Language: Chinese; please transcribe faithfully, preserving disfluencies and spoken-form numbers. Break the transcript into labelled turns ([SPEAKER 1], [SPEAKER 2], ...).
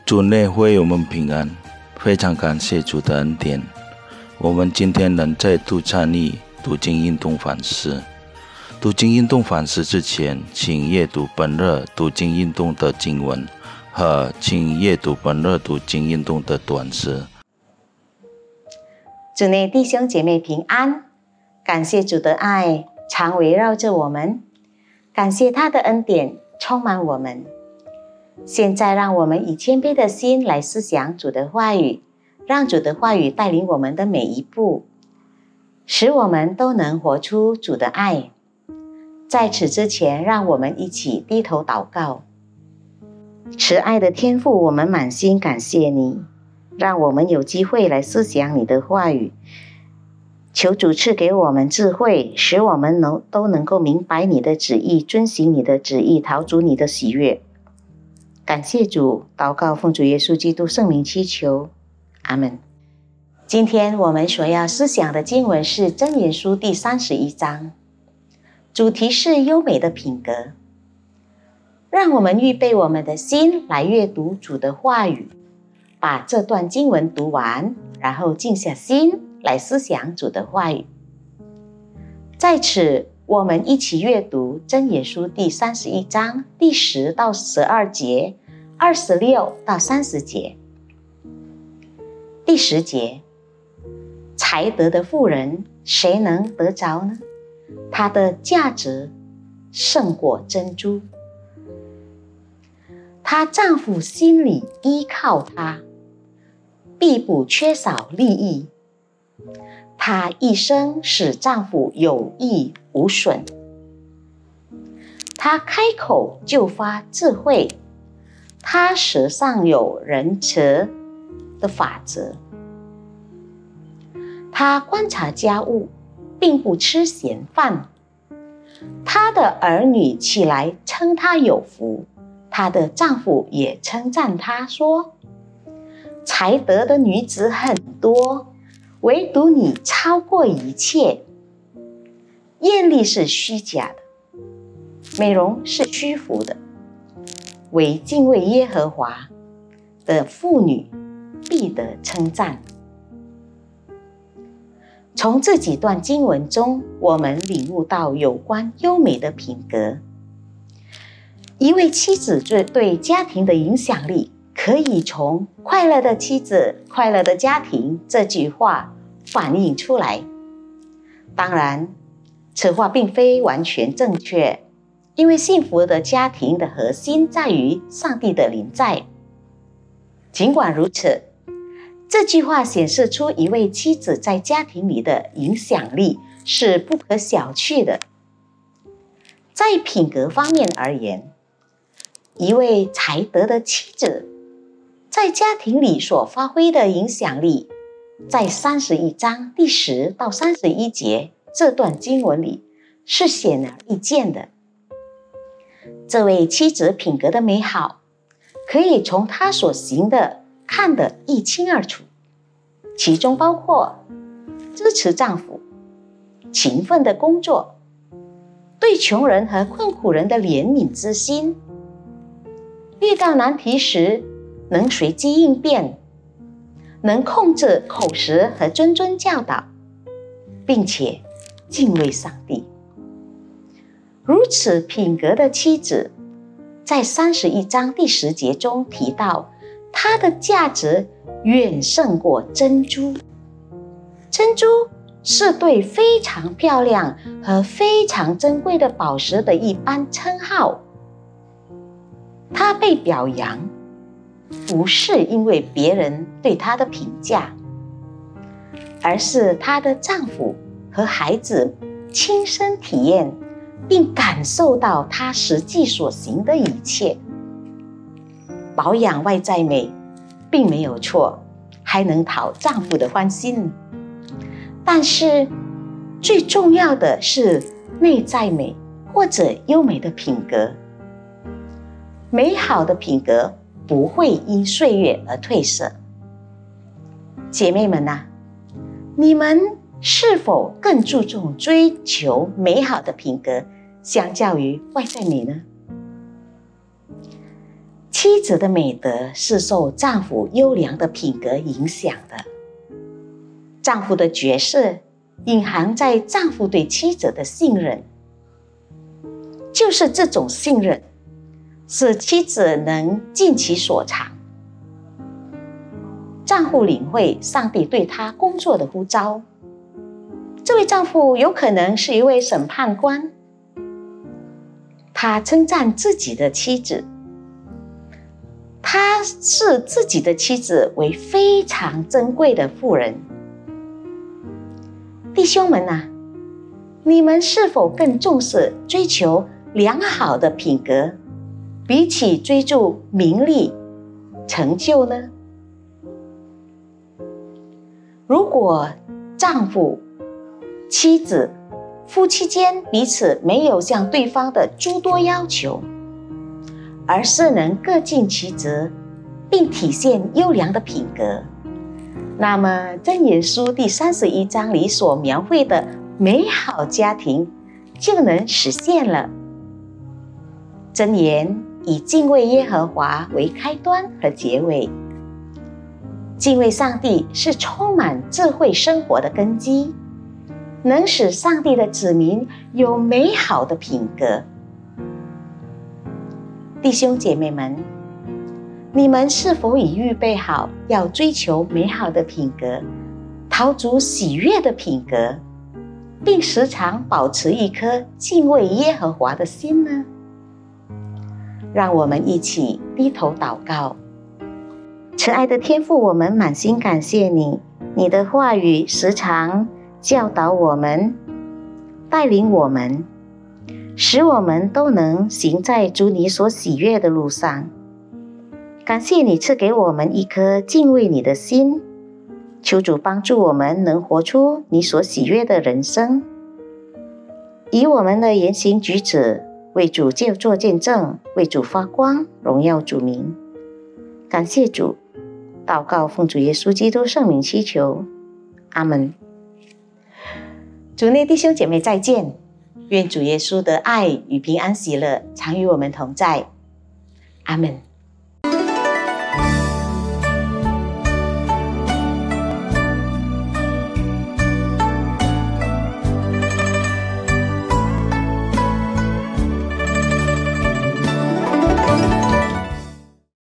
[SPEAKER 1] 主内会我们平安，非常感谢主的恩典。我们今天能再度参与读经运动反思。读经运动反思之前，请阅读本日读经运动的经文和请阅读本日读经运动的短诗。
[SPEAKER 2] 主内弟兄姐妹平安，感谢主的爱常围绕着我们，感谢他的恩典充满我们。现在让我们以谦卑的心来思想主的话语，让主的话语带领我们的每一步，使我们都能活出主的爱。在此之前，让我们一起低头祷告。慈爱的天父，我们满心感谢你，让我们有机会来思想你的话语。求主赐给我们智慧，使我们能都能够明白你的旨意，遵行你的旨意，讨主你的喜悦。感谢主，祷告奉主耶稣基督圣名祈求，阿们。今天我们所要思想的经文是箴言书第三十一章，主题是优美的品格。让我们预备我们的心来阅读主的话语，把这段经文读完，然后静下心来思想主的话语。在此，我们一起阅读箴言书第三十一章第十到十二节，二十六到三十节。第十节，才德的妇人，谁能得着呢？她的价值胜过珍珠。她丈夫心里依靠她，必不缺少利益。她一生使丈夫有益无损。她开口就发智慧，她舌上有仁慈的法则。她观察家务，并不吃闲饭。她的儿女起来称她有福，她的丈夫也称赞她说：才德的女子很多，唯独你超过一切。艳丽是虚假的，美容是虚浮的，唯敬畏耶和华的妇女必得称赞。从这几段经文中，我们领悟到有关优美的品格。一位妻子对家庭的影响力，可以从快乐的妻子，快乐的家庭这句话反映出来。当然，此话并非完全正确，因为幸福的家庭的核心在于上帝的临在。尽管如此，这句话显示出一位妻子在家庭里的影响力是不可小觑的。在品格方面而言，一位才德的妻子在家庭里所发挥的影响力，在三十一章第十到三十一节这段经文里是显而易见的。这位妻子品格的美好，可以从她所行的看得一清二楚，其中包括支持丈夫、勤奋的工作、对穷人和困苦人的怜悯之心，遇到难题时能随机应变，能控制口舌和谆谆教导，并且敬畏上帝。如此品格的妻子，在三十一章第十节中提到，她的价值远胜过珍珠。珍珠是对非常漂亮和非常珍贵的宝石的一般称号。她被表扬，不是因为别人对她的评价，而是她的丈夫和孩子亲身体验并感受到她实际所行的一切。保养外在美并没有错，还能讨丈夫的欢心。但是最重要的是内在美或者优美的品格。美好的品格不会因岁月而褪色。姐妹们啊，你们是否更注重追求美好的品格，相较于外在美呢？ 妻子的美德是受丈夫优良的品格影响的。丈夫的角色隐含在丈夫对妻子的信任，就是这种信任使妻子能尽其所长。丈夫领会上帝对他工作的呼召，这位丈夫有可能是一位审判官，他称赞自己的妻子，他视自己的妻子为非常珍贵的妇人。弟兄们啊，你们是否更重视追求良好的品格，比起追逐名利、成就呢？如果丈夫、妻子、夫妻间彼此没有向对方的诸多要求，而是能各尽其责，并体现优良的品格，那么箴言书第三十一章里所描绘的美好家庭就能实现了。箴言以敬畏耶和华为开端和结尾。敬畏上帝是充满智慧生活的根基，能使上帝的子民有美好的品格。弟兄姐妹们，你们是否已预备好要追求美好的品格，讨主喜悦的品格，并时常保持一颗敬畏耶和华的心呢？让我们一起低头祷告。慈爱的天父，我们满心感谢你，你的话语时常教导我们，带领我们，使我们都能行在主你所喜悦的路上。感谢你赐给我们一颗敬畏你的心，求主帮助我们能活出你所喜悦的人生，以我们的言行举止为主做见证，为主发光，荣耀主名。感谢主，祷告奉主耶稣基督圣名祈求，阿们。主内弟兄姐妹再见，愿主耶稣的爱与平安喜乐常与我们同在，阿们。